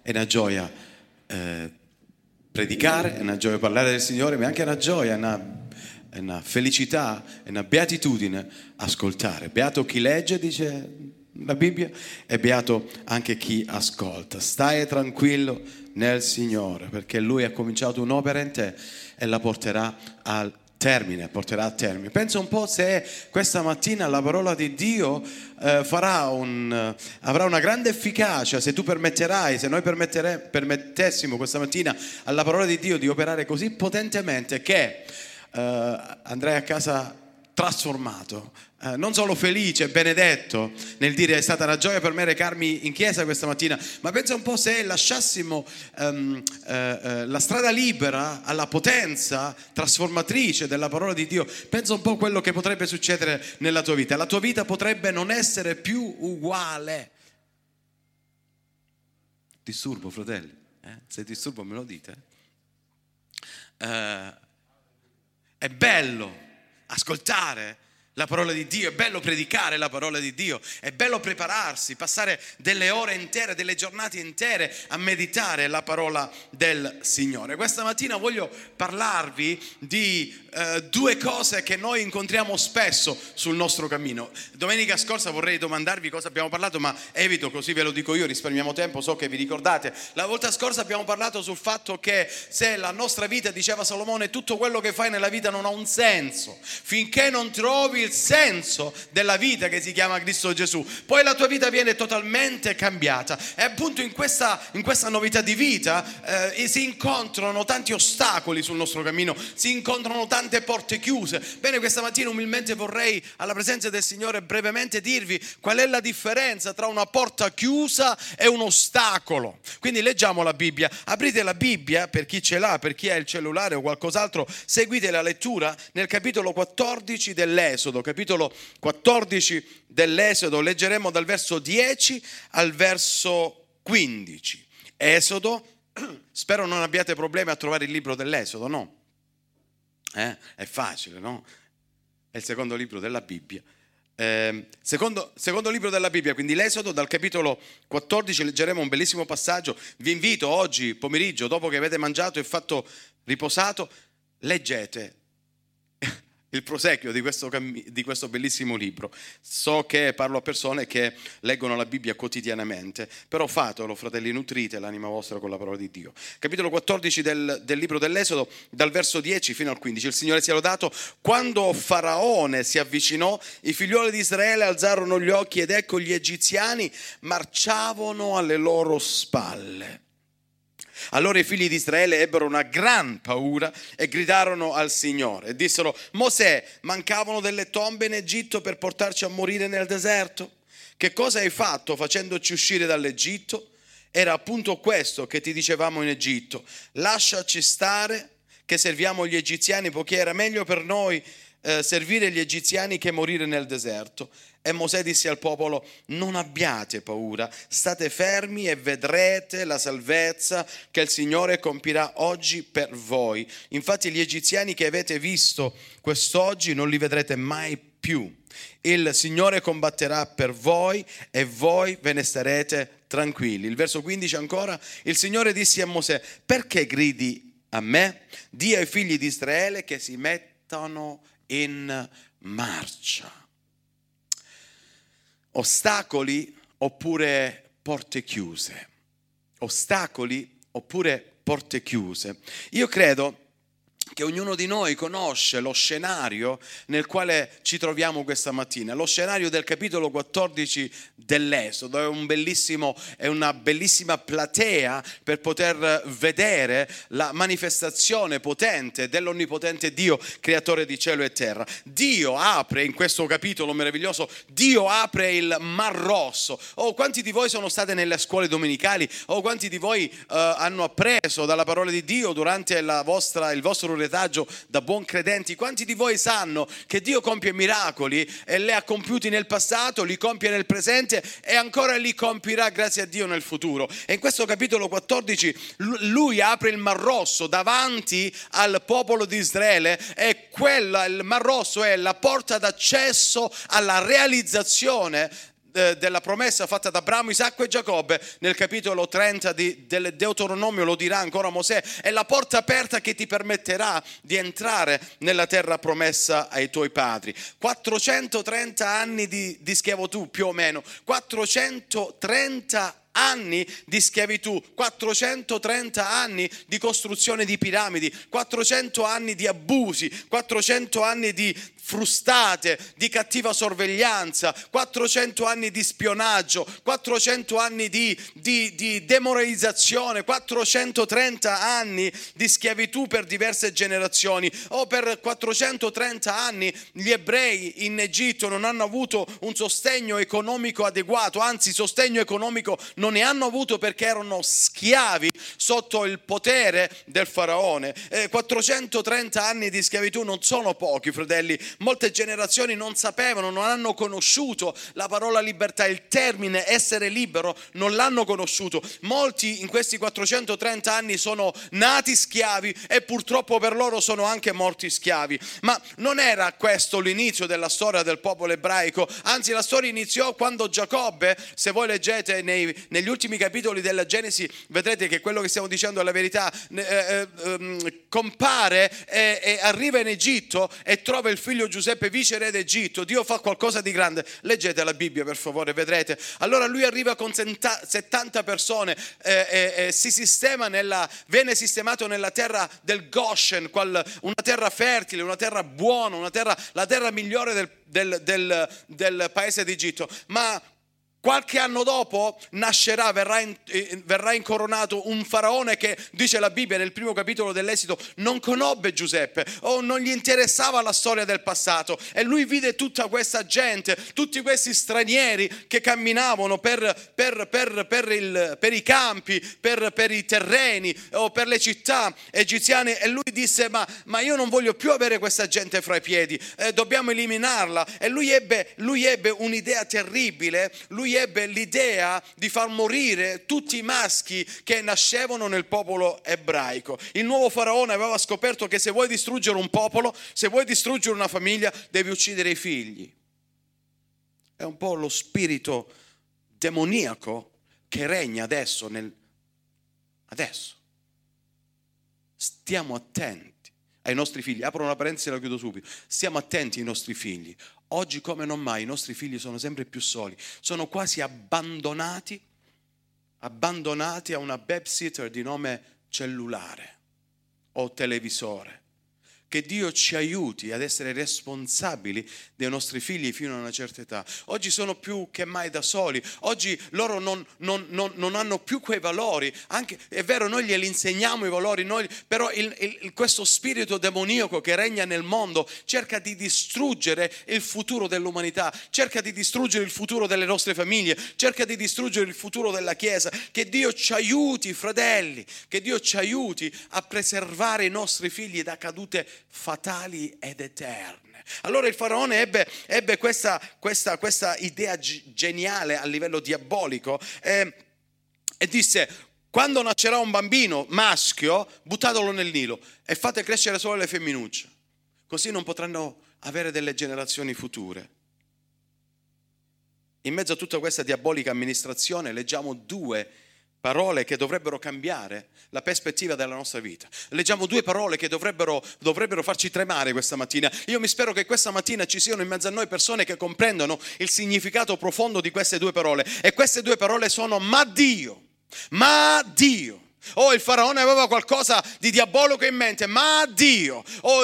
È una gioia predicare, è una gioia parlare del Signore, ma è anche una gioia, è una felicità, è una beatitudine ascoltare. Beato chi legge, dice la Bibbia, e beato anche chi ascolta. Stai tranquillo nel Signore, perché Lui ha cominciato un'opera in te e la porterà a termine. Pensa un po' se questa mattina la parola di Dio avrà una grande efficacia, se tu permetterai, se noi permettessimo questa mattina alla parola di Dio di operare così potentemente che andrai a casa trasformato, non solo felice e benedetto nel dire è stata una gioia per me recarmi in chiesa questa mattina, ma pensa un po' se lasciassimo la strada libera alla potenza trasformatrice della parola di Dio. Pensa un po' quello che potrebbe succedere nella tua vita. La tua vita potrebbe non essere più uguale. Disturbo, fratelli? Se disturbo me lo dite. È bello ascoltare la parola di Dio, è bello predicare la parola di Dio, è bello prepararsi, passare delle ore intere, delle giornate intere a meditare la parola del Signore. Questa mattina voglio parlarvi di due cose che noi incontriamo spesso sul nostro cammino. Domenica scorsa vorrei domandarvi cosa abbiamo parlato, ma evito, così ve lo dico io, risparmiamo tempo, so che vi ricordate. La volta scorsa abbiamo parlato sul fatto che se la nostra vita, diceva Salomone, tutto quello che fai nella vita non ha un senso finché non trovi il senso della vita che si chiama Cristo Gesù, poi la tua vita viene totalmente cambiata. E appunto in questa novità di vita si incontrano tanti ostacoli sul nostro cammino, si incontrano tante porte chiuse. Bene, questa mattina umilmente vorrei alla presenza del Signore brevemente dirvi qual è la differenza tra una porta chiusa e un ostacolo. Quindi leggiamo la Bibbia, aprite la Bibbia, per chi ce l'ha, per chi ha il cellulare o qualcos'altro, seguite la lettura nel capitolo 14 dell'Esodo. Capitolo 14 dell'Esodo, leggeremo dal verso 10 al verso 15. Esodo, spero non abbiate problemi a trovare il libro dell'Esodo, no? È facile, no? È il secondo libro della Bibbia. Secondo libro della Bibbia, quindi l'Esodo, dal capitolo 14 leggeremo un bellissimo passaggio. Vi invito oggi pomeriggio, dopo che avete mangiato e fatto riposato, leggete il proseguio di questo bellissimo libro. So che parlo a persone che leggono la Bibbia quotidianamente, però fatelo, fratelli, nutrite l'anima vostra con la parola di Dio. Capitolo 14 del libro dell'Esodo, dal verso 10 fino al 15. Il Signore sia lodato. Quando Faraone si avvicinò, i figlioli di Israele alzarono gli occhi ed ecco gli egiziani marciavano alle loro spalle. Allora i figli di Israele ebbero una gran paura e gridarono al Signore e dissero: Mosè, mancavano delle tombe in Egitto per portarci a morire nel deserto? Che cosa hai fatto facendoci uscire dall'Egitto? Era appunto questo che ti dicevamo in Egitto: lasciaci stare che serviamo gli egiziani, poiché era meglio per noi servire gli egiziani che morire nel deserto. E Mosè disse al popolo: non abbiate paura, state fermi e vedrete la salvezza che il Signore compirà oggi per voi. Infatti gli egiziani che avete visto quest'oggi non li vedrete mai più. Il Signore combatterà per voi e voi ve ne starete tranquilli. Il verso 15 ancora: il Signore disse a Mosè: perché gridi a me? Dì ai figli di Israele che si mettano in marcia. Ostacoli oppure porte chiuse. Ostacoli oppure porte chiuse. Io credo che ognuno di noi conosce lo scenario nel quale ci troviamo questa mattina, lo scenario del capitolo 14 dell'Esodo. È una bellissima platea per poter vedere la manifestazione potente dell'onnipotente Dio, creatore di cielo e terra. Dio apre in questo capitolo meraviglioso, Dio apre il Mar Rosso. Quanti di voi sono state nelle scuole domenicali? Quanti di voi hanno appreso dalla parola di Dio durante il vostro retaggio da buon credenti? Quanti di voi sanno che Dio compie miracoli e li ha compiuti nel passato, li compie nel presente e ancora li compirà, grazie a Dio, nel futuro? E in questo capitolo 14 lui apre il Mar Rosso davanti al popolo di Israele, e il Mar Rosso è la porta d'accesso alla realizzazione della promessa fatta da Abramo, Isacco e Giacobbe, nel capitolo 30 del Deuteronomio lo dirà ancora Mosè, è la porta aperta che ti permetterà di entrare nella terra promessa ai tuoi padri. 430 anni di schiavitù più o meno, 430 anni di schiavitù, 430 anni di costruzione di piramidi, 400 anni di abusi, 400 anni di frustate, di cattiva sorveglianza, 400 anni di spionaggio, 400 anni di demoralizzazione, 430 anni di schiavitù per diverse generazioni. Per 430 anni gli ebrei in Egitto non hanno avuto un sostegno economico adeguato, anzi sostegno economico non ne hanno avuto perché erano schiavi sotto il potere del faraone. 430 anni di schiavitù non sono pochi, fratelli. Molte generazioni non sapevano, non hanno conosciuto la parola libertà, il termine essere libero non l'hanno conosciuto. Molti in questi 430 anni sono nati schiavi e purtroppo per loro sono anche morti schiavi. Ma non era questo l'inizio della storia del popolo ebraico, anzi la storia iniziò quando Giacobbe, se voi leggete negli ultimi capitoli della Genesi, vedrete che quello che stiamo dicendo è la verità, compare e arriva in Egitto e trova il figlio Giuseppe viceré d'Egitto. Dio fa qualcosa di grande, leggete la Bibbia per favore, vedrete. Allora lui arriva con 70 persone, si sistema viene sistemato nella terra del Goshen, una terra fertile, una terra buona, la terra migliore del paese d'Egitto. Ma qualche anno dopo nascerà, verrà incoronato un faraone che, dice la Bibbia nel primo capitolo dell'Esodo, non conobbe Giuseppe o non gli interessava la storia del passato, e lui vide tutta questa gente, tutti questi stranieri che camminavano per i campi, per i terreni o per le città egiziane, e lui disse ma io non voglio più avere questa gente fra i piedi, dobbiamo eliminarla. E lui ebbe un'idea terribile. Lui ebbe l'idea di far morire tutti i maschi che nascevano nel popolo ebraico. Il nuovo faraone aveva scoperto che se vuoi distruggere un popolo, se vuoi distruggere una famiglia, devi uccidere i figli. È un po' lo spirito demoniaco che regna adesso. Adesso stiamo attenti ai nostri figli. Apro una parentesi e la chiudo subito. Stiamo attenti ai nostri figli. Oggi come non mai i nostri figli sono sempre più soli, sono quasi abbandonati a una babysitter di nome cellulare o televisore. Che Dio ci aiuti ad essere responsabili dei nostri figli fino a una certa età. Oggi sono più che mai da soli. Oggi loro non hanno più quei valori. Anche, è vero, noi glieli insegniamo i valori, però questo spirito demoniaco che regna nel mondo cerca di distruggere il futuro dell'umanità, cerca di distruggere il futuro delle nostre famiglie, cerca di distruggere il futuro della Chiesa. Che Dio ci aiuti, fratelli, che Dio ci aiuti a preservare i nostri figli da cadute fatali ed eterne. Allora il faraone ebbe questa idea geniale a livello diabolico e disse: quando nascerà un bambino maschio, buttatelo nel Nilo e fate crescere solo le femminucce, così non potranno avere delle generazioni future. In mezzo a tutta questa diabolica amministrazione leggiamo due parole che dovrebbero cambiare la prospettiva della nostra vita. Leggiamo due parole che dovrebbero farci tremare questa mattina. Io mi spero che questa mattina ci siano in mezzo a noi persone che comprendono il significato profondo di queste due parole. E queste due parole sono ma Dio. Il faraone aveva qualcosa di diabolico in mente, ma Dio.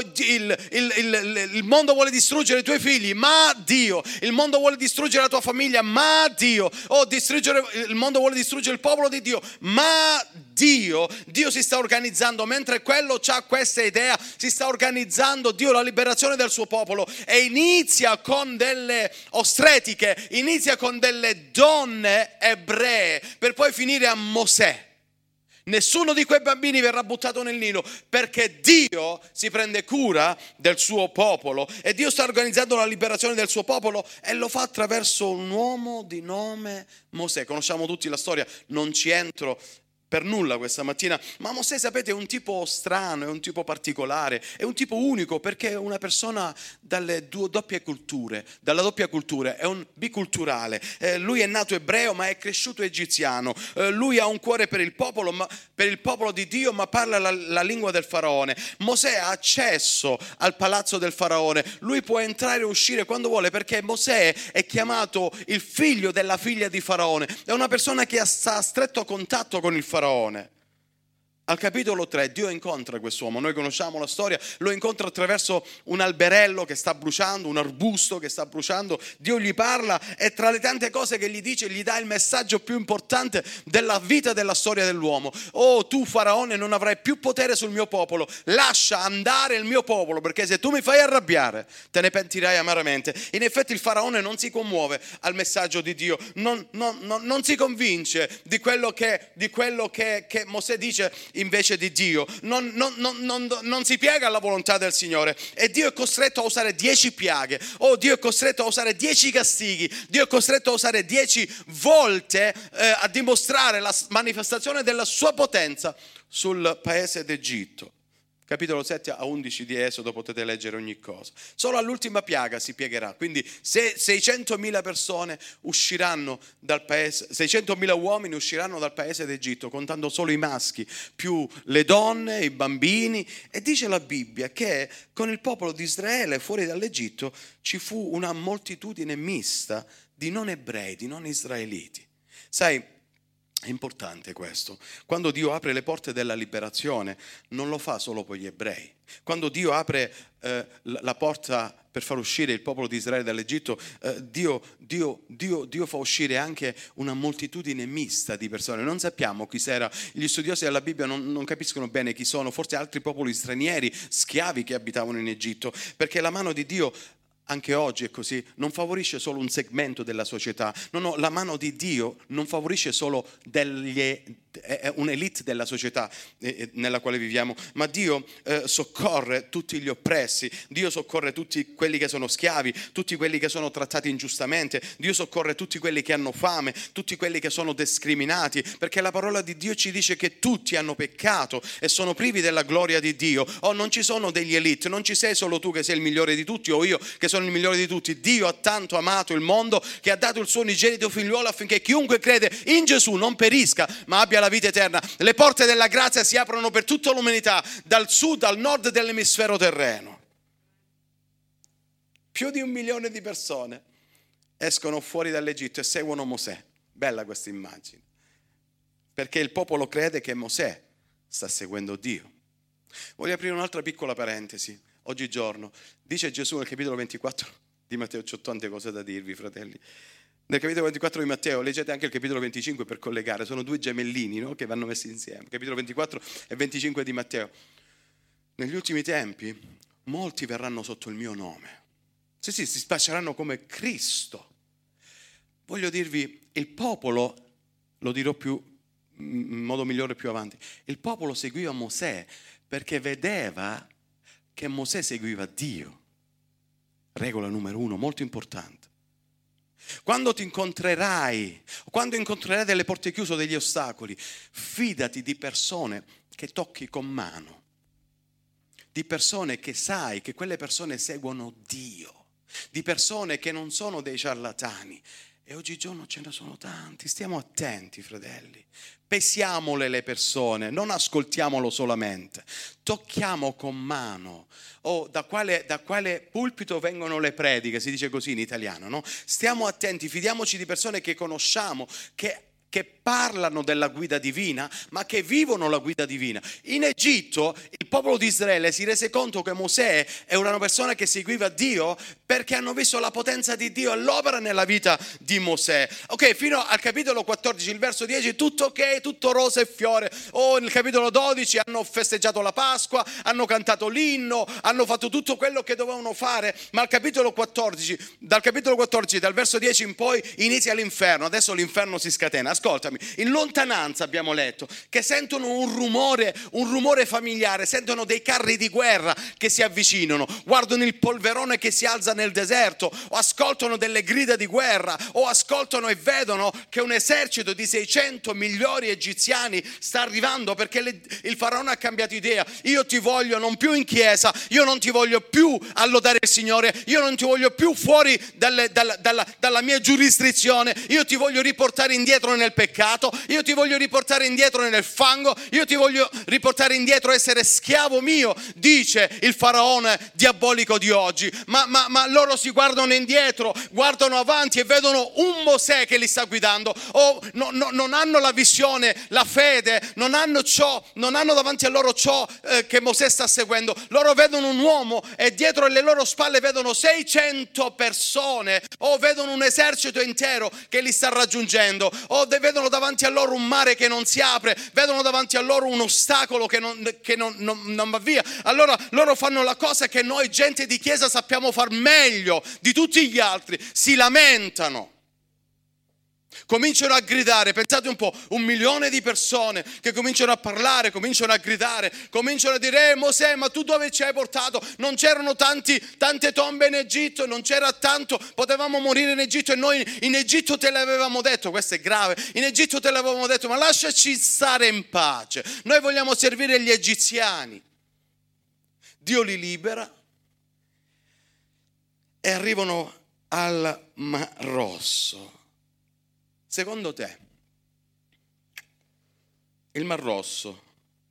Il mondo vuole distruggere i tuoi figli, ma Dio. Il mondo vuole distruggere la tua famiglia, ma Dio. Il mondo vuole distruggere il popolo di Dio, ma Dio si sta organizzando. Mentre quello ha questa idea, si sta organizzando Dio la liberazione del suo popolo, e inizia con delle ostretiche, inizia con delle donne ebree, per poi finire a Mosè. Nessuno di quei bambini verrà buttato nel Nilo, perché Dio si prende cura del suo popolo e Dio sta organizzando la liberazione del suo popolo, e lo fa attraverso un uomo di nome Mosè. Conosciamo tutti la storia, non ci entro, per nulla questa mattina, ma Mosè, sapete, è un tipo strano, è un tipo particolare, è un tipo unico perché è una persona dalle doppie culture, dalla doppia cultura, è un biculturale. Lui è nato ebreo ma è cresciuto egiziano. Lui ha un cuore per il popolo di Dio, ma parla la lingua del faraone. Mosè ha accesso al palazzo del faraone, lui può entrare e uscire quando vuole perché Mosè è chiamato il figlio della figlia di Faraone, è una persona che sta a stretto contatto con il faraone. Al capitolo 3 Dio incontra quest'uomo, noi conosciamo la storia, lo incontra attraverso un alberello che sta bruciando, un arbusto che sta bruciando. Dio gli parla e tra le tante cose che gli dice gli dà il messaggio più importante della vita e della storia dell'uomo. Oh, tu faraone non avrai più potere sul mio popolo, lascia andare il mio popolo perché se tu mi fai arrabbiare te ne pentirai amaramente. In effetti il faraone non si commuove al messaggio di Dio, non si convince di quello che Mosè dice invece di Dio, non si piega alla volontà del Signore e Dio è costretto a usare 10 piaghe. Dio è costretto a usare 10 castighi, Dio è costretto a usare 10 volte a dimostrare la manifestazione della sua potenza sul paese d'Egitto. Capitolo 7 a 11 di Esodo potete leggere ogni cosa. Solo all'ultima piaga si piegherà. Quindi se 600.000 persone usciranno dal paese, 600.000 uomini usciranno dal paese d'Egitto, contando solo i maschi, più le donne, i bambini. E dice la Bibbia che con il popolo di Israele fuori dall'Egitto ci fu una moltitudine mista di non ebrei, di non israeliti. Sai, è importante questo. Quando Dio apre le porte della liberazione, non lo fa solo per gli ebrei. Quando Dio apre la porta per far uscire il popolo di Israele dall'Egitto, Dio fa uscire anche una moltitudine mista di persone. Non sappiamo chi era. Gli studiosi della Bibbia non capiscono bene chi sono, forse altri popoli stranieri, schiavi che abitavano in Egitto, perché la mano di Dio anche oggi è così, non favorisce solo un segmento della società. No, la mano di Dio non favorisce solo un'elite della società nella quale viviamo, ma Dio soccorre tutti gli oppressi, Dio soccorre tutti quelli che sono schiavi, tutti quelli che sono trattati ingiustamente, Dio soccorre tutti quelli che hanno fame, tutti quelli che sono discriminati, perché la parola di Dio ci dice che tutti hanno peccato e sono privi della gloria di Dio. Non ci sono degli elite, non ci sei solo tu che sei il migliore di tutti o io che sono il migliore di tutti. Dio ha tanto amato il mondo che ha dato il suo unigenito figliuolo affinché chiunque crede in Gesù non perisca ma abbia la vita eterna. Le porte della grazia si aprono per tutta l'umanità, dal sud al nord dell'emisfero terreno. Più di 1 milione di persone escono fuori dall'Egitto e seguono Mosè. Bella questa immagine, perché il popolo crede che Mosè sta seguendo Dio. Voglio aprire un'altra piccola parentesi. Oggigiorno dice Gesù nel capitolo 24 di Matteo, c'ho tante cose da dirvi, fratelli. Nel capitolo 24 di Matteo, leggete anche il capitolo 25 per collegare, sono 2 gemellini, no? Che vanno messi insieme, capitolo 24 e 25 di Matteo. Negli ultimi tempi molti verranno sotto il mio nome, sì, si spacceranno come Cristo. Voglio dirvi, il popolo, lo dirò in modo migliore più avanti, il popolo seguiva Mosè perché vedeva che Mosè seguiva Dio. Regola numero 1, molto importante. Quando ti incontrerai, quando incontrerai delle porte chiuse o degli ostacoli, fidati di persone che tocchi con mano, di persone che sai che quelle persone seguono Dio, di persone che non sono dei ciarlatani. E oggigiorno ce ne sono tanti, stiamo attenti, fratelli. Pesiamole le persone, non ascoltiamolo solamente, tocchiamo con mano. Da quale pulpito vengono le prediche, si dice così in italiano, no? Stiamo attenti, fidiamoci di persone che conosciamo, che parlano della guida divina, ma che vivono la guida divina. In Egitto il popolo di Israele si rese conto che Mosè era una persona che seguiva Dio perché hanno visto la potenza di Dio all'opera nella vita di Mosè. Ok, fino al capitolo 14, il verso 10, tutto ok, tutto rosa e fiore. Nel capitolo 12 hanno festeggiato la Pasqua, hanno cantato l'inno, hanno fatto tutto quello che dovevano fare, ma al capitolo 14, dal verso 10 in poi inizia l'inferno. Adesso l'inferno si scatena. Ascoltami, in lontananza abbiamo letto che sentono un rumore familiare, sentono dei carri di guerra che si avvicinano, guardano il polverone che si alza nel deserto, o ascoltano delle grida di guerra, o ascoltano e vedono che un esercito di 600 migliori egiziani sta arrivando, perché il faraone ha cambiato idea. Io ti voglio non più in chiesa, io non ti voglio più a lodare il Signore, io non ti voglio più fuori dalla mia giurisdizione, io ti voglio riportare indietro nel peccato, io ti voglio riportare indietro nel fango, io ti voglio riportare indietro a essere schiavo mio, dice il faraone diabolico di oggi. Ma loro si guardano indietro, guardano avanti e vedono un Mosè che li sta guidando, non hanno la visione, la fede, non hanno davanti a loro ciò che Mosè sta seguendo. Loro vedono un uomo e dietro le loro spalle vedono 600 persone, o vedono un esercito intero che li sta raggiungendo, o vedono davanti a loro un mare che non si apre, vedono davanti a loro un ostacolo che non va via. Allora loro fanno la cosa che noi gente di chiesa sappiamo far meglio di tutti gli altri: si lamentano. Cominciano a gridare. Pensate un po', 1 milione di persone che cominciano a parlare, cominciano a gridare, cominciano a dire: Mosè, ma tu dove ci hai portato? Non c'erano tante tombe in Egitto, non c'era tanto, potevamo morire in Egitto, e noi in Egitto te l'avevamo detto. Questo è grave. In Egitto te l'avevamo detto, ma lasciaci stare in pace, noi vogliamo servire gli egiziani. Dio li libera e arrivano al Mar Rosso. Secondo te, il Mar Rosso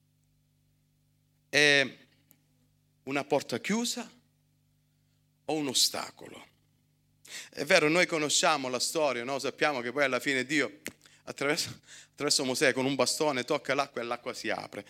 è una porta chiusa o un ostacolo? È vero, noi conosciamo la storia, no? Sappiamo che poi alla fine Dio attraverso Mosè con un bastone tocca l'acqua e l'acqua si apre.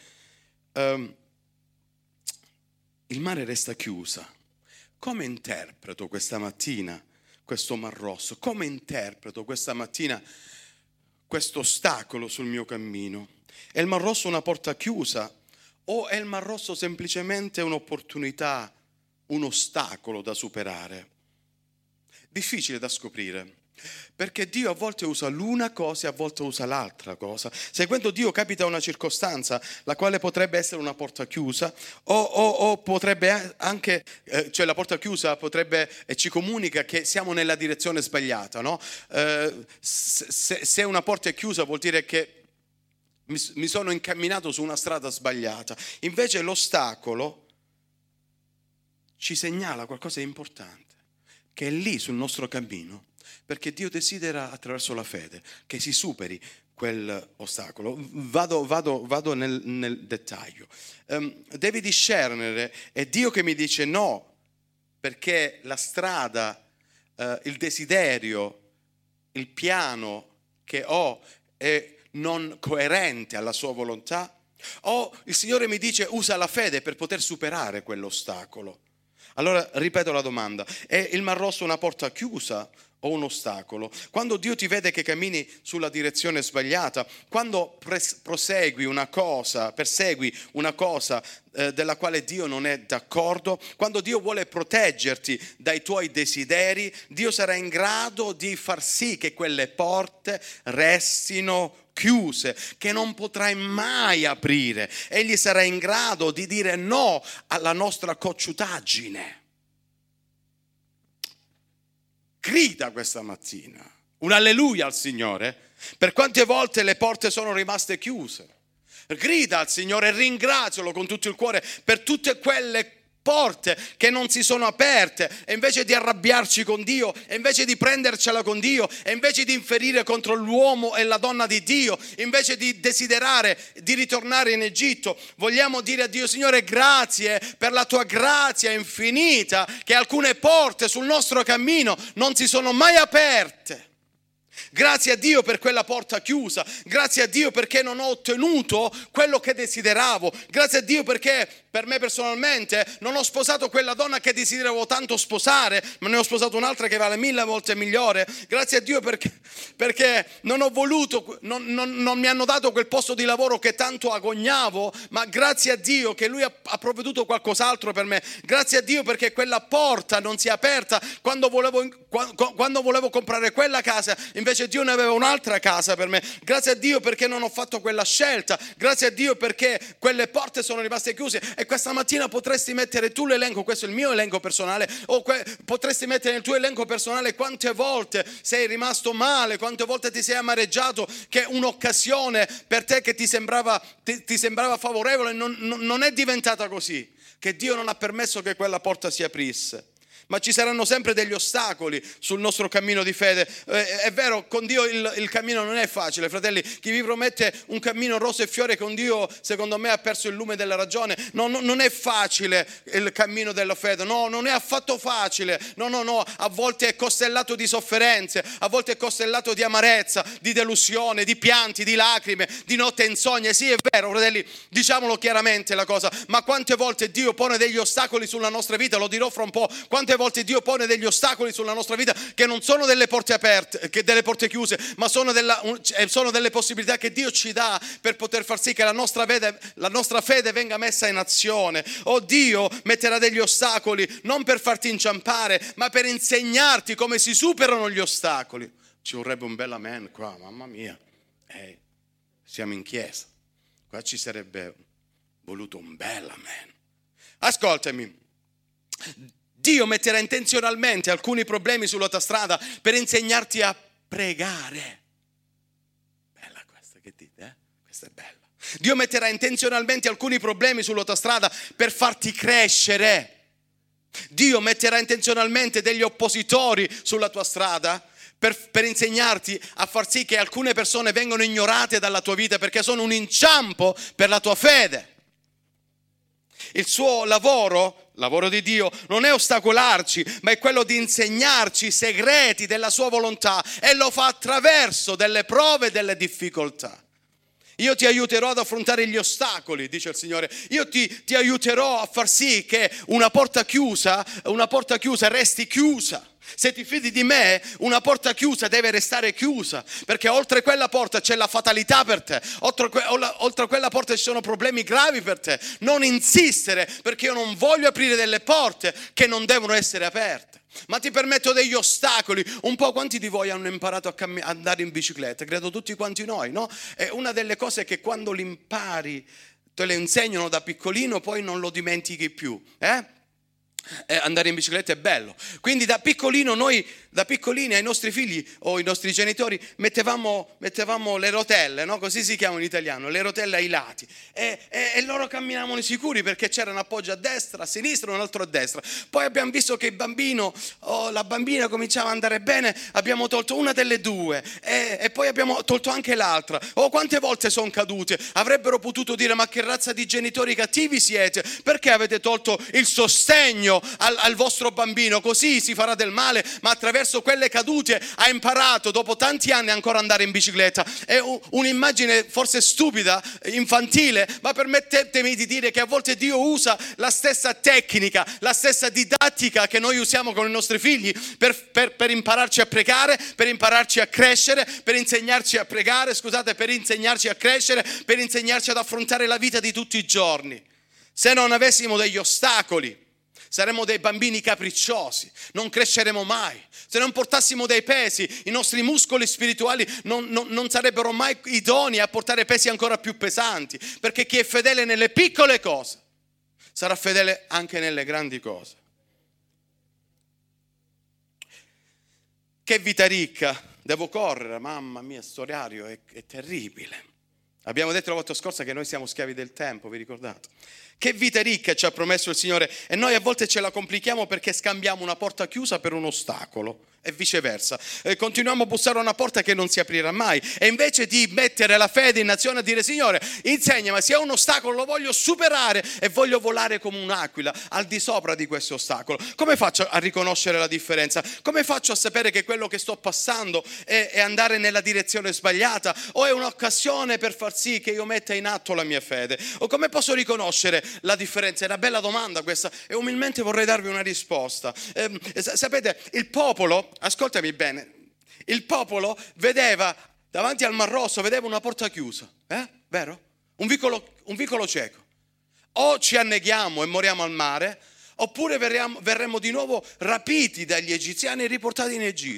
Il mare resta chiusa. Come interpreto questa mattina questo Mar Rosso? Come interpreto questa mattina questo ostacolo sul mio cammino? È il Mar Rosso una porta chiusa o è il Mar Rosso semplicemente un'opportunità, un ostacolo da superare? Difficile da scoprire, perché Dio a volte usa l'una cosa e a volte usa l'altra cosa. Seguendo Dio capita una circostanza la quale potrebbe essere una porta chiusa o potrebbe anche, cioè la porta chiusa potrebbe e ci comunica che siamo nella direzione sbagliata, no? Se una porta è chiusa vuol dire che mi sono incamminato su una strada sbagliata. Invece l'ostacolo ci segnala qualcosa di importante, che è lì sul nostro cammino, perché Dio desidera attraverso la fede che si superi quell'ostacolo. Vado nel dettaglio. Devi discernere, è Dio che mi dice no, perché la strada, il desiderio, il piano che ho è non coerente alla sua volontà, o il Signore mi dice usa la fede per poter superare quell'ostacolo. Allora ripeto la domanda: è il Mar Rosso una porta chiusa o un ostacolo? Quando Dio ti vede che cammini sulla direzione sbagliata, quando persegui una cosa della quale Dio non è d'accordo, quando Dio vuole proteggerti dai tuoi desideri, Dio sarà in grado di far sì che quelle porte restino chiuse, che non potrai mai aprire. Egli sarà in grado di dire no alla nostra cocciutaggine. Grida questa mattina un alleluia al Signore per quante volte le porte sono rimaste chiuse. Grida al Signore e ringrazialo con tutto il cuore per tutte quelle porte che non si sono aperte, e invece di arrabbiarci con Dio, e invece di prendercela con Dio, e invece di inferire contro l'uomo e la donna di Dio, invece di desiderare di ritornare in Egitto, vogliamo dire a Dio: Signore, grazie per la tua grazia infinita, che alcune porte sul nostro cammino non si sono mai aperte. Grazie a Dio per quella porta chiusa, grazie a Dio perché non ho ottenuto quello che desideravo, grazie a Dio perché per me personalmente non ho sposato quella donna che desideravo tanto sposare, ma ne ho sposato un'altra che vale 1000 volte migliore. Grazie a Dio perché non ho voluto, non mi hanno dato quel posto di lavoro che tanto agognavo, ma grazie a Dio che Lui ha provveduto qualcos'altro per me. Grazie a Dio perché quella porta non si è aperta quando volevo comprare quella casa, invece invece Dio ne aveva un'altra casa per me. Grazie a Dio perché non ho fatto quella scelta, grazie a Dio perché quelle porte sono rimaste chiuse. E questa mattina potresti mettere tu l'elenco, questo è il mio elenco personale, o potresti mettere nel tuo elenco personale quante volte sei rimasto male, quante volte ti sei amareggiato, che un'occasione per te che ti sembrava favorevole non è diventata così, che Dio non ha permesso che quella porta si aprisse. Ma ci saranno sempre degli ostacoli sul nostro cammino di fede. È vero, con Dio il cammino non è facile, fratelli. Chi vi promette un cammino rosa e fiore con Dio, secondo me ha perso il lume della ragione. No, non è facile il cammino della fede. No, non è affatto facile. No. A volte è costellato di sofferenze, a volte è costellato di amarezza, di delusione, di pianti, di lacrime, di notte insonne. Sì, è vero, fratelli, diciamolo chiaramente la cosa. Ma quante volte Dio pone degli ostacoli sulla nostra vita? Lo dirò fra un po'. Quante volte Dio pone degli ostacoli sulla nostra vita che non sono delle porte aperte, che delle porte chiuse, ma sono delle possibilità che Dio ci dà per poter far sì che la nostra fede venga messa in azione. Oh, Dio metterà degli ostacoli non per farti inciampare, ma per insegnarti come si superano gli ostacoli. Ci vorrebbe un bel amen qua, mamma mia. Siamo in chiesa, qua ci sarebbe voluto un bel amen. Ascoltami. Dio metterà intenzionalmente alcuni problemi sulla tua strada per insegnarti a pregare. Bella questa, che dite? Questa è bella. Dio metterà intenzionalmente alcuni problemi sulla tua strada per farti crescere. Dio metterà intenzionalmente degli oppositori sulla tua strada per insegnarti a far sì che alcune persone vengano ignorate dalla tua vita perché sono un inciampo per la tua fede. Il suo lavoro di Dio, non è ostacolarci, ma è quello di insegnarci i segreti della sua volontà, e lo fa attraverso delle prove e delle difficoltà. Io ti aiuterò ad affrontare gli ostacoli, dice il Signore. Io ti aiuterò a far sì che una porta chiusa resti chiusa. Se ti fidi di me, una porta chiusa deve restare chiusa, perché oltre quella porta c'è la fatalità per te, oltre quella porta ci sono problemi gravi per te. Non insistere, perché io non voglio aprire delle porte che non devono essere aperte. Ma ti permetto degli ostacoli. Un po' quanti di voi hanno imparato a andare in bicicletta? Credo tutti quanti noi, no? È una delle cose che quando l'impari, te le insegnano da piccolino, poi non lo dimentichi più, andare in bicicletta è bello. Quindi da piccolini ai nostri figli o ai nostri genitori mettevamo le rotelle, no? Così si chiamano in italiano, le rotelle ai lati, e loro camminavano sicuri perché c'era un appoggio a destra, a sinistra e un altro a destra. Poi abbiamo visto che il bambino o la bambina cominciava ad andare bene, abbiamo tolto una delle due e poi abbiamo tolto anche l'altra. Quante volte sono cadute? Avrebbero potuto dire: ma che razza di genitori cattivi siete, perché avete tolto il sostegno al vostro bambino? Così si farà del male. Ma attraverso quelle cadute ha imparato dopo tanti anni ancora andare in bicicletta. È un'immagine forse stupida, infantile, ma permettetemi di dire che a volte Dio usa la stessa tecnica, la stessa didattica che noi usiamo con i nostri figli per impararci a pregare, per impararci a crescere, per insegnarci a pregare, per insegnarci a crescere, per insegnarci ad affrontare la vita di tutti i giorni. Se non avessimo degli ostacoli, saremmo dei bambini capricciosi, non cresceremo mai. Se non portassimo dei pesi, i nostri muscoli spirituali non sarebbero mai idonei a portare pesi ancora più pesanti, perché chi è fedele nelle piccole cose sarà fedele anche nelle grandi cose. Che vita ricca! Devo correre, mamma mia, sto orario è terribile. Abbiamo detto la volta scorsa che noi siamo schiavi del tempo, vi ricordate? Che vita ricca ci ha promesso il Signore, e noi a volte ce la complichiamo perché scambiamo una porta chiusa per un ostacolo e viceversa. Continuiamo a bussare a una porta che non si aprirà mai, e invece di mettere la fede in azione a dire: Signore, insegnami, se ho un ostacolo lo voglio superare e voglio volare come un'aquila al di sopra di questo ostacolo. Come faccio a riconoscere la differenza? Come faccio a sapere che quello che sto passando è andare nella direzione sbagliata, o è un'occasione per far sì che io metta in atto la mia fede? O come posso riconoscere la differenza? È una bella domanda questa, e umilmente vorrei darvi una risposta. Sapete, il popolo, ascoltami bene, il popolo vedeva davanti al Mar Rosso, vedeva una porta chiusa, vero? Un vicolo cieco. O ci anneghiamo e moriamo al mare, oppure verremo di nuovo rapiti dagli egiziani e riportati in Egitto.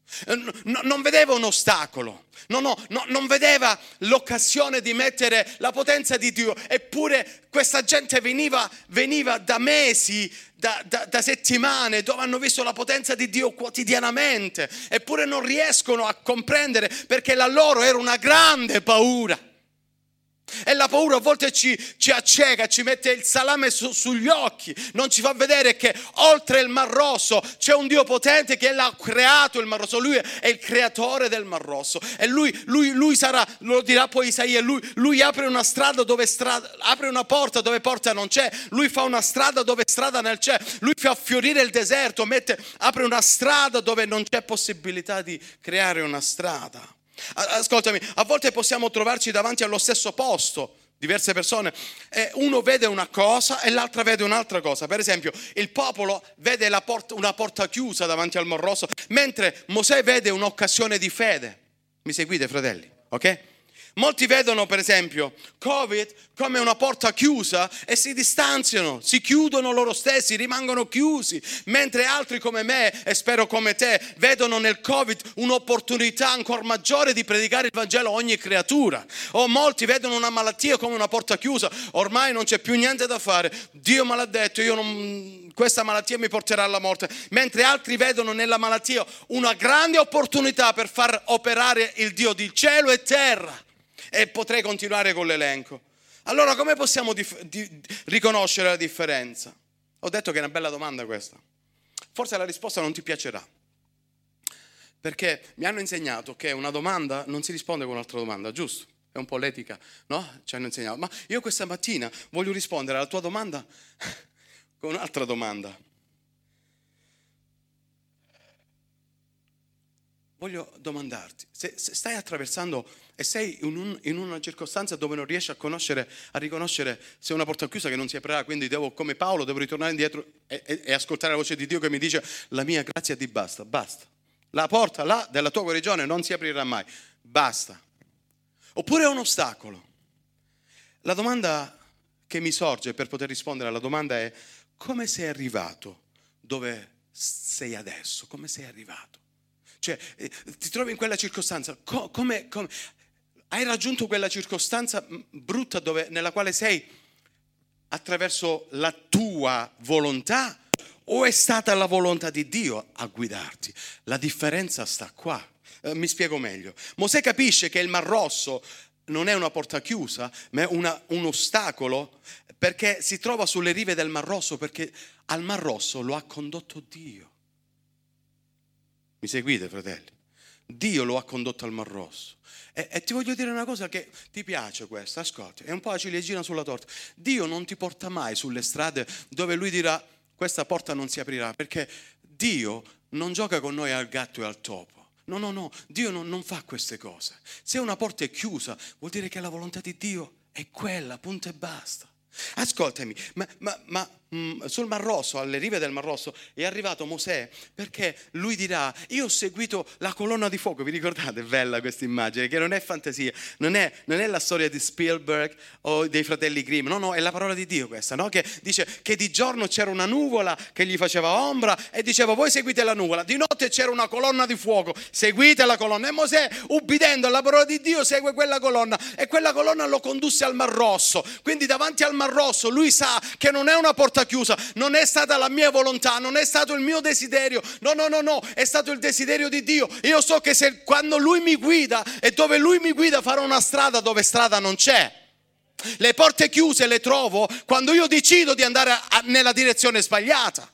Non vedeva un ostacolo, non vedeva l'occasione di mettere la potenza di Dio. Eppure questa gente veniva da mesi, da settimane, dove hanno visto la potenza di Dio quotidianamente, eppure non riescono a comprendere, perché la loro era una grande paura. E la paura a volte ci acceca, ci mette il salame sugli occhi, non ci fa vedere che oltre il Mar Rosso c'è un Dio potente che l'ha creato il Mar Rosso. Lui è il creatore del Mar Rosso, e lui sarà, lo dirà poi Isaia, lui apre una strada apre una porta dove porta non c'è, lui fa una strada dove strada non c'è, lui fa fiorire il deserto, apre una strada dove non c'è possibilità di creare una strada. Ascoltami, a volte possiamo trovarci davanti allo stesso posto, diverse persone, e uno vede una cosa e l'altra vede un'altra cosa. Per esempio, il popolo vede una porta chiusa davanti al Mar Rosso, mentre Mosè vede un'occasione di fede. Mi seguite, fratelli? Ok? Molti vedono, per esempio, Covid come una porta chiusa e si distanziano, si chiudono loro stessi, rimangono chiusi, mentre altri come me, e spero come te, vedono nel Covid un'opportunità ancora maggiore di predicare il Vangelo a ogni creatura. O molti vedono una malattia come una porta chiusa, ormai non c'è più niente da fare, Dio me l'ha detto, questa malattia mi porterà alla morte, mentre altri vedono nella malattia una grande opportunità per far operare il Dio di cielo e terra. E potrei continuare con l'elenco. Allora, come possiamo riconoscere la differenza? Ho detto che è una bella domanda questa. Forse la risposta non ti piacerà, perché mi hanno insegnato che una domanda non si risponde con un'altra domanda, giusto? È un po' l'etica, no? Ci hanno insegnato. Ma io questa mattina voglio rispondere alla tua domanda con un'altra domanda. Voglio domandarti, se stai attraversando e sei in una circostanza dove non riesci a riconoscere se è una porta chiusa che non si aprirà, quindi come Paolo devo ritornare indietro e ascoltare la voce di Dio che mi dice: la mia grazia ti basta. La porta là della tua guarigione non si aprirà mai, basta. Oppure è un ostacolo. La domanda che mi sorge per poter rispondere alla domanda è: come sei arrivato dove sei adesso? Come sei arrivato? Cioè, ti trovi in quella circostanza, come hai raggiunto quella circostanza brutta nella quale sei attraverso la tua volontà, o è stata la volontà di Dio a guidarti? La differenza sta qua. Mi spiego meglio. Mosè capisce che il Mar Rosso non è una porta chiusa, ma è un ostacolo, perché si trova sulle rive del Mar Rosso, perché al Mar Rosso lo ha condotto Dio. Mi seguite, fratelli? Dio lo ha condotto al Mar Rosso. E ti voglio dire una cosa che ti piace questa, ascolti, è un po' la ciliegina sulla torta. Dio non ti porta mai sulle strade dove Lui dirà: questa porta non si aprirà, perché Dio non gioca con noi al gatto e al topo. No, Dio non fa queste cose. Se una porta è chiusa, vuol dire che la volontà di Dio è quella, punto e basta. Ascoltami, ma sul Mar Rosso, alle rive del Mar Rosso, è arrivato Mosè, perché lui dirà: io ho seguito la colonna di fuoco. Vi ricordate? È bella questa immagine, che non è fantasia, non è la storia di Spielberg o dei fratelli Grimm, no, è la parola di Dio questa, no? Che dice che di giorno c'era una nuvola che gli faceva ombra e diceva: voi seguite la nuvola. Di notte c'era una colonna di fuoco, seguite la colonna. E Mosè, ubbidendo alla parola di Dio, segue quella colonna, e quella colonna lo condusse al Mar Rosso. Quindi davanti al Mar Rosso lui sa che non è una porta chiusa, non è stata la mia volontà, non è stato il mio desiderio, no, è stato il desiderio di Dio. Io so che quando Lui mi guida e dove Lui mi guida farò una strada dove strada non c'è. Le porte chiuse le trovo quando io decido di andare nella direzione sbagliata.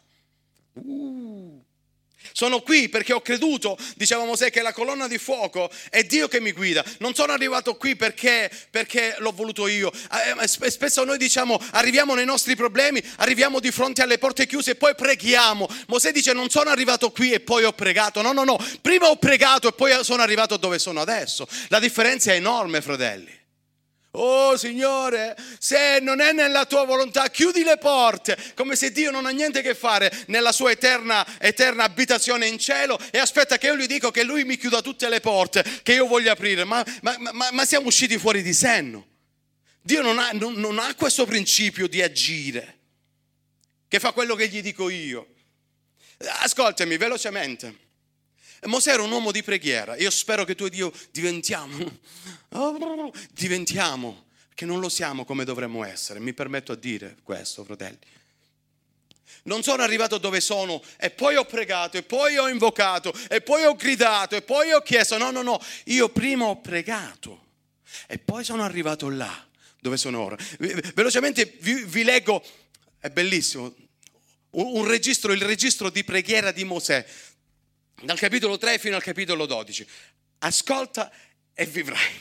Sono qui perché ho creduto, diceva Mosè, che la colonna di fuoco è Dio che mi guida. Non sono arrivato qui perché l'ho voluto io. Spesso noi diciamo: arriviamo nei nostri problemi, arriviamo di fronte alle porte chiuse e poi preghiamo. Mosè dice: non sono arrivato qui e poi ho pregato. No, prima ho pregato e poi sono arrivato dove sono adesso. La differenza è enorme, fratelli. Oh Signore, se non è nella tua volontà, chiudi le porte, come se Dio non ha niente a che fare nella sua eterna abitazione in cielo e aspetta che io gli dico che Lui mi chiuda tutte le porte che io voglio aprire. Ma siamo usciti fuori di senno. Dio non ha questo principio di agire, che fa quello che gli dico io. Ascoltami velocemente. Mosè era un uomo di preghiera. Io spero che tu ed io diventiamo, che non lo siamo come dovremmo essere. Mi permetto a dire questo, fratelli. Non sono arrivato dove sono e poi ho pregato e poi ho invocato e poi ho gridato e poi ho chiesto. No. Io prima ho pregato e poi sono arrivato là dove sono ora. Velocemente vi leggo, è bellissimo, il registro di preghiera di Mosè, dal capitolo 3 fino al capitolo 12. Ascolta e vivrai.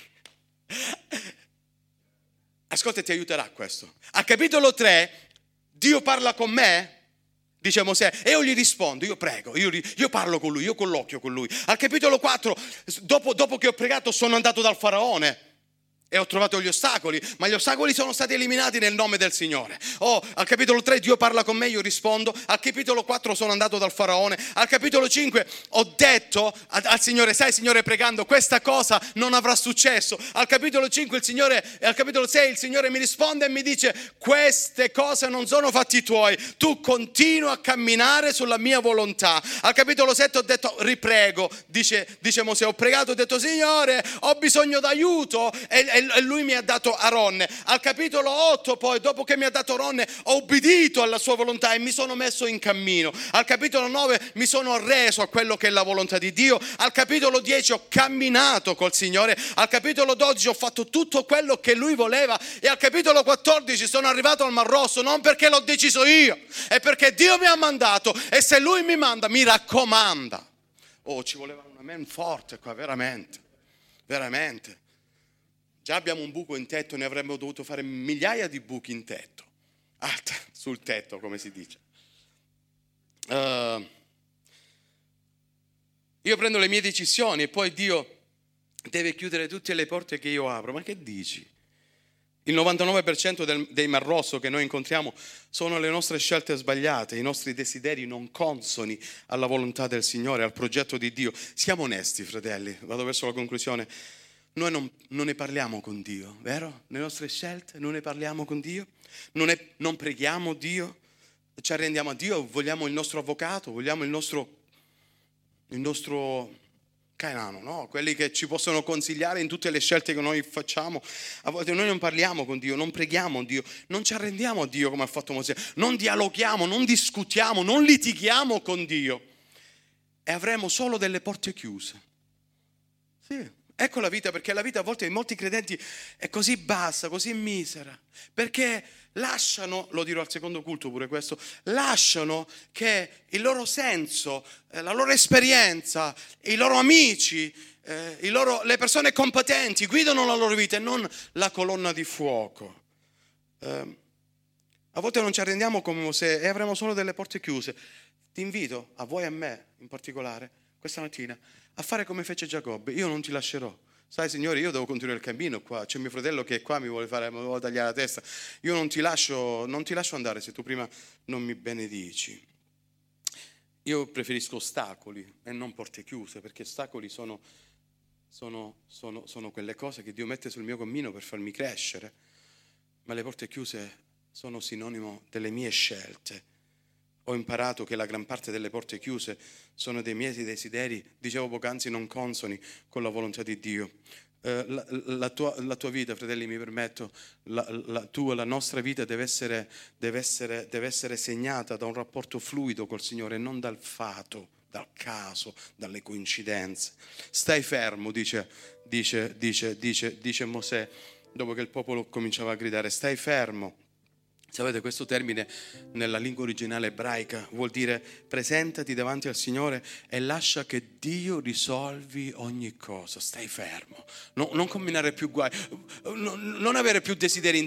Ascolta e ti aiuterà questo. Al capitolo 3 Dio parla con me, dice Mosè, e io gli rispondo, io prego, io parlo con lui, io colloquio con lui. Al capitolo 4, dopo che ho pregato, sono andato dal faraone e ho trovato gli ostacoli, ma gli ostacoli sono stati eliminati nel nome del Signore. Al capitolo 3 Dio parla con me, io rispondo. Al capitolo 4 sono andato dal faraone. Al capitolo 5 ho detto al Signore, sai Signore, pregando, questa cosa non avrà successo. Al capitolo 5 al capitolo 6 il Signore mi risponde e mi dice, queste cose non sono fatti tuoi, tu continua a camminare sulla mia volontà. Al capitolo 7 ho detto, riprego, dice Mosè, ho pregato, ho detto, Signore, ho bisogno d'aiuto e lui mi ha dato Aronne. Al capitolo 8 poi, dopo che mi ha dato Aronne, ho obbedito alla sua volontà e mi sono messo in cammino. Al capitolo 9 mi sono reso a quello che è la volontà di Dio. Al capitolo 10 ho camminato col Signore. Al capitolo 12 ho fatto tutto quello che lui voleva e al capitolo 14 sono arrivato al Mar Rosso, non perché l'ho deciso io, è perché Dio mi ha mandato e se lui mi manda mi raccomanda. Ci voleva un amen forte qua, veramente. Già abbiamo un buco in tetto, ne avremmo dovuto fare migliaia di buchi in tetto. Sul tetto, come si dice. Io prendo le mie decisioni e poi Dio deve chiudere tutte le porte che io apro. Ma che dici? Il 99% dei Mar Rosso che noi incontriamo sono le nostre scelte sbagliate, i nostri desideri non consoni alla volontà del Signore, al progetto di Dio. Siamo onesti, fratelli, vado verso la conclusione. Noi non ne parliamo con Dio, vero? Le nostre scelte non ne parliamo con Dio, non preghiamo Dio, ci arrendiamo a Dio, vogliamo il nostro avvocato, vogliamo il nostro Cainano, no? Quelli che ci possono consigliare in tutte le scelte che noi facciamo. A volte noi non parliamo con Dio, non preghiamo Dio, non ci arrendiamo a Dio come ha fatto Mosè, non dialoghiamo, non discutiamo, non litighiamo con Dio e avremo solo delle porte chiuse. Sì. Ecco la vita, perché la vita a volte in molti credenti è così bassa, così misera, perché lasciano, lo dirò al secondo culto pure questo, lasciano che il loro senso, la loro esperienza, i loro amici, le persone competenti guidano la loro vita e non la colonna di fuoco. A volte non ci arrendiamo come Mosè e avremo solo delle porte chiuse. Ti invito, a voi e a me in particolare, questa mattina, a fare come fece Giacobbe. Io non ti lascerò. Sai, Signore, io devo continuare il cammino qua. C'è mio fratello che è qua, mi vuole tagliare la testa. Io non ti lascio andare se tu prima non mi benedici. Io preferisco ostacoli e non porte chiuse, perché ostacoli sono quelle cose che Dio mette sul mio cammino per farmi crescere, ma le porte chiuse sono sinonimo delle mie scelte. Ho imparato che la gran parte delle porte chiuse sono dei miei desideri, dicevo poc'anzi, non consoni con la volontà di Dio. La tua vita, fratelli, mi permetto, la nostra vita deve essere segnata da un rapporto fluido col Signore, non dal fato, dal caso, dalle coincidenze. Stai fermo, dice Mosè, dopo che il popolo cominciava a gridare, stai fermo. Sapete, questo termine nella lingua originale ebraica vuol dire presentati davanti al Signore e lascia che Dio risolvi ogni cosa. Stai fermo, non combinare più guai, non avere più desideri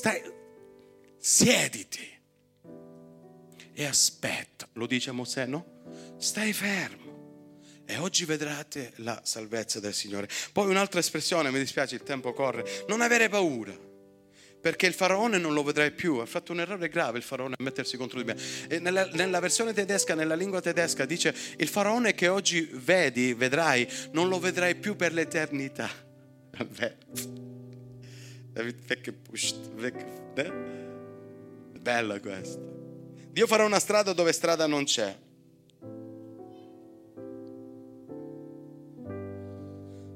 siediti e aspetta. Lo dice Mosè, no? Stai fermo e oggi vedrete la salvezza del Signore. Poi un'altra espressione, mi dispiace, il tempo corre, non avere paura. Perché il faraone non lo vedrai più. Ha fatto un errore grave il faraone a mettersi contro di me. E nella versione tedesca, nella lingua tedesca dice: il faraone che oggi vedrai, non lo vedrai più per l'eternità. Bella questa. Dio farà una strada dove strada non c'è.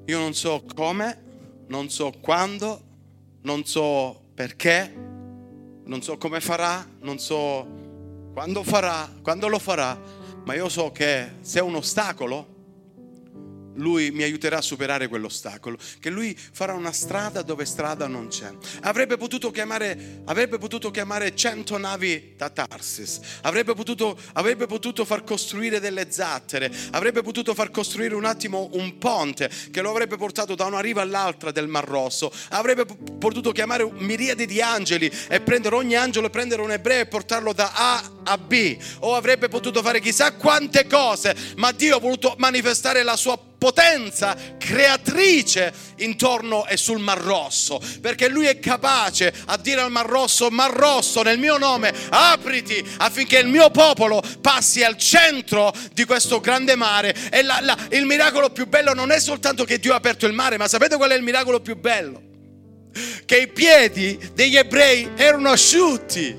Io non so come, non so quando, non so perché, non so come farà, non so quando farà, quando lo farà, ma io so che se è un ostacolo, Lui mi aiuterà a superare quell'ostacolo, che Lui farà una strada dove strada non c'è. Avrebbe potuto chiamare 100 navi da Tarsis, avrebbe potuto far costruire delle zattere, avrebbe potuto far costruire un attimo un ponte che lo avrebbe portato da una riva all'altra del Mar Rosso, avrebbe potuto chiamare miriadi di angeli e prendere ogni angelo e prendere un ebreo e portarlo da A a B, o avrebbe potuto fare chissà quante cose, ma Dio ha voluto manifestare la sua potenza creatrice intorno e sul Mar Rosso, perché Lui è capace a dire al Mar Rosso: Mar Rosso, nel mio nome apriti, affinché il mio popolo passi al centro di questo grande mare. E il miracolo più bello non è soltanto che Dio ha aperto il mare, ma sapete qual è il miracolo più bello? Che i piedi degli ebrei erano asciutti.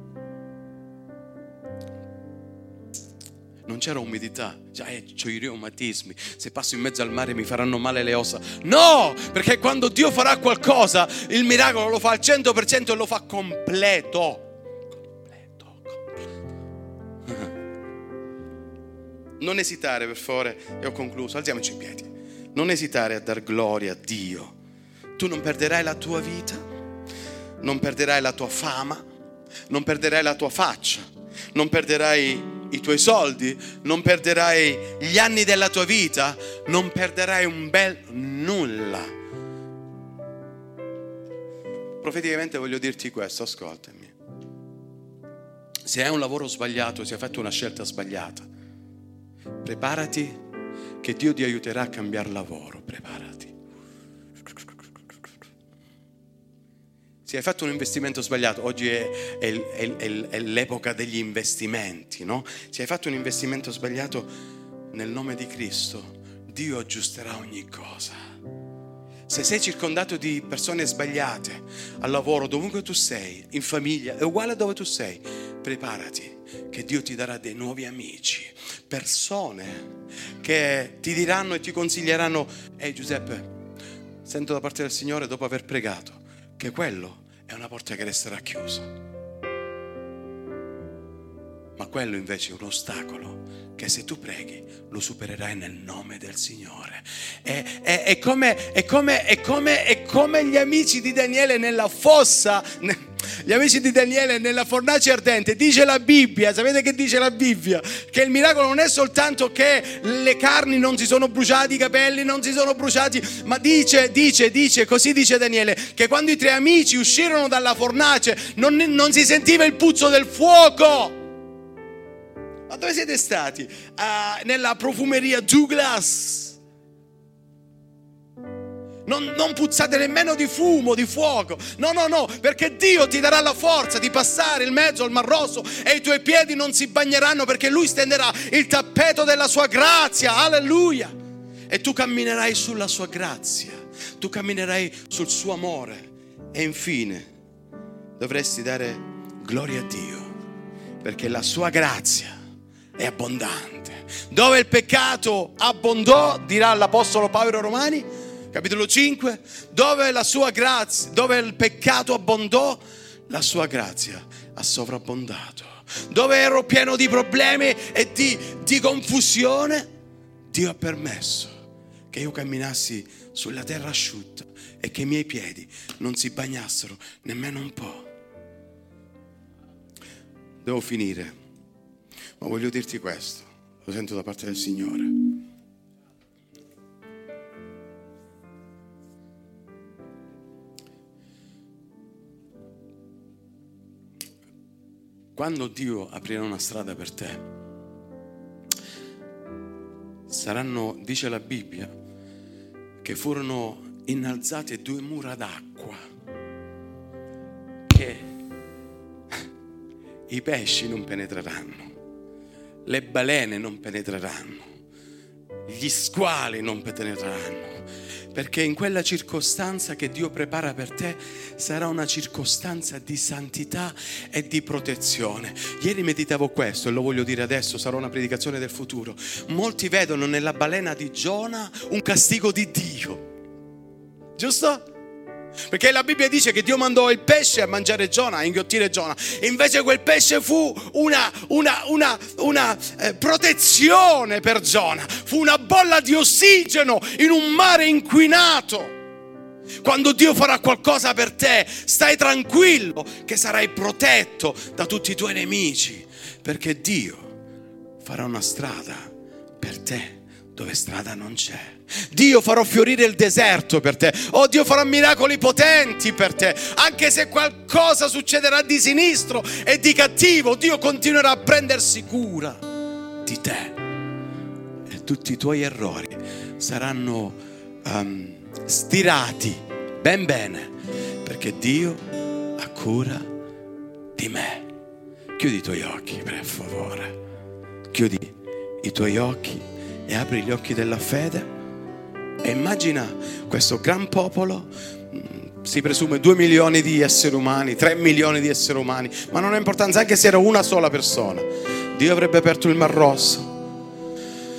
Non c'era umidità, c'ho i reumatismi, se passo in mezzo al mare mi faranno male le ossa. No, perché quando Dio farà qualcosa, il miracolo lo fa al 100% e lo fa completo. Non esitare, per favore, e ho concluso, alziamoci in piedi. Non esitare a dar gloria a Dio. Tu non perderai la tua vita, non perderai la tua fama, non perderai la tua faccia, non perderai i tuoi soldi, non perderai gli anni della tua vita, non perderai un bel nulla. Profeticamente voglio dirti questo, ascoltami. Se hai un lavoro sbagliato, se hai fatto una scelta sbagliata, preparati che Dio ti aiuterà a cambiare lavoro, preparati. Se hai fatto un investimento sbagliato, oggi è l'epoca degli investimenti, no? Se hai fatto un investimento sbagliato, nel nome di Cristo, Dio aggiusterà ogni cosa. Se sei circondato di persone sbagliate, al lavoro, dovunque tu sei, in famiglia, è uguale a dove tu sei, preparati che Dio ti darà dei nuovi amici, persone che ti diranno e ti consiglieranno: ehi Giuseppe, sento da parte del Signore, dopo aver pregato, che quello è una porta che resterà chiusa, ma quello invece è un ostacolo che se tu preghi lo supererai nel nome del Signore. È come gli amici di Daniele nella fossa, gli amici di Daniele nella fornace ardente. Dice la Bibbia, sapete che dice la Bibbia? Che il miracolo non è soltanto che le carni non si sono bruciati, i capelli non si sono bruciati, ma dice, così dice Daniele, che quando i tre amici uscirono dalla fornace non si sentiva il puzzo del fuoco. Ma dove siete stati? Nella profumeria Douglas. Non puzzate nemmeno di fumo, di fuoco. No, perché Dio ti darà la forza di passare il mezzo al Mar Rosso e i tuoi piedi non si bagneranno, perché Lui stenderà il tappeto della sua grazia. Alleluia. E tu camminerai sulla sua grazia, tu camminerai sul suo amore. E infine dovresti dare gloria a Dio, perché la sua grazia è abbondante. Dove il peccato abbondò, dirà l'apostolo Paolo ai Romani, capitolo 5, dove la sua grazia, dove il peccato abbondò, la sua grazia ha sovrabbondato. Dove ero pieno di problemi e di confusione, Dio ha permesso che io camminassi sulla terra asciutta e che i miei piedi non si bagnassero nemmeno un po'. Devo finire, ma voglio dirti questo, lo sento da parte del Signore. Quando Dio aprirà una strada per te, saranno, dice la Bibbia, che furono innalzate 2 mura d'acqua, che i pesci non penetreranno, le balene non penetreranno, gli squali non penetreranno, Perché in quella circostanza che Dio prepara per te sarà una circostanza di santità e di protezione. Ieri meditavo questo e lo voglio dire adesso, sarà una predicazione del futuro. Molti vedono nella balena di Giona un castigo di Dio, giusto? Perché la Bibbia dice che Dio mandò il pesce a mangiare Giona, a inghiottire Giona, e invece quel pesce fu una protezione per Giona, fu una bolla di ossigeno in un mare inquinato. Quando Dio farà qualcosa per te, stai tranquillo che sarai protetto da tutti i tuoi nemici, perché Dio farà una strada per te dove strada non c'è. Dio farà fiorire il deserto per te. Oh, Dio farà miracoli potenti per te. Anche se qualcosa succederà di sinistro e di cattivo, Dio continuerà a prendersi cura di te. E tutti i tuoi errori saranno stirati ben bene, perché Dio ha cura di me. Chiudi i tuoi occhi, per favore. Chiudi i tuoi occhi e apri gli occhi della fede. E immagina questo gran popolo, si presume 2 milioni di esseri umani, 3 milioni di esseri umani, ma non ha importanza, anche se era una sola persona. Dio avrebbe aperto il Mar Rosso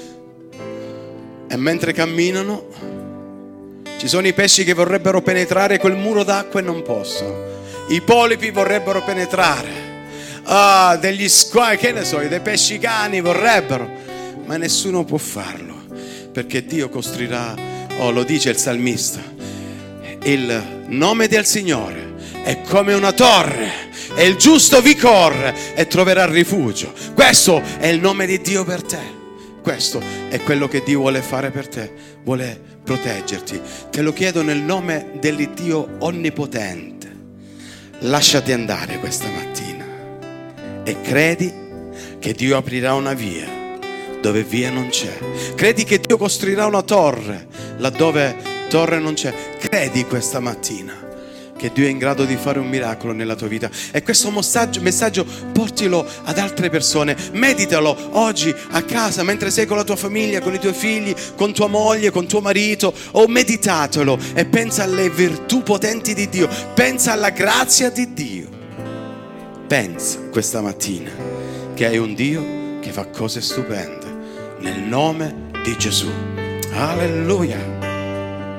e mentre camminano ci sono i pesci che vorrebbero penetrare quel muro d'acqua e non possono. I polipi vorrebbero penetrare, degli squali, che ne so, dei pesci cani vorrebbero, ma nessuno può farlo, perché Dio costruirà. Lo dice il salmista, il nome del Signore è come una torre e il giusto vi corre e troverà rifugio. Questo è il nome di Dio per te. Questo è quello che Dio vuole fare per te. Vuole proteggerti. Te lo chiedo nel nome dell'Iddio onnipotente. Lasciati andare questa mattina e credi che Dio aprirà una via dove via non c'è. Credi che Dio costruirà una torre laddove torre non c'è. Credi questa mattina che Dio è in grado di fare un miracolo nella tua vita, e questo messaggio portilo ad altre persone. Meditalo oggi a casa mentre sei con la tua famiglia, con i tuoi figli, con tua moglie, con tuo marito, o meditatelo e pensa alle virtù potenti di Dio, pensa alla grazia di Dio. Pensa questa mattina che hai un Dio che fa cose stupende nel nome di Gesù. Alleluia.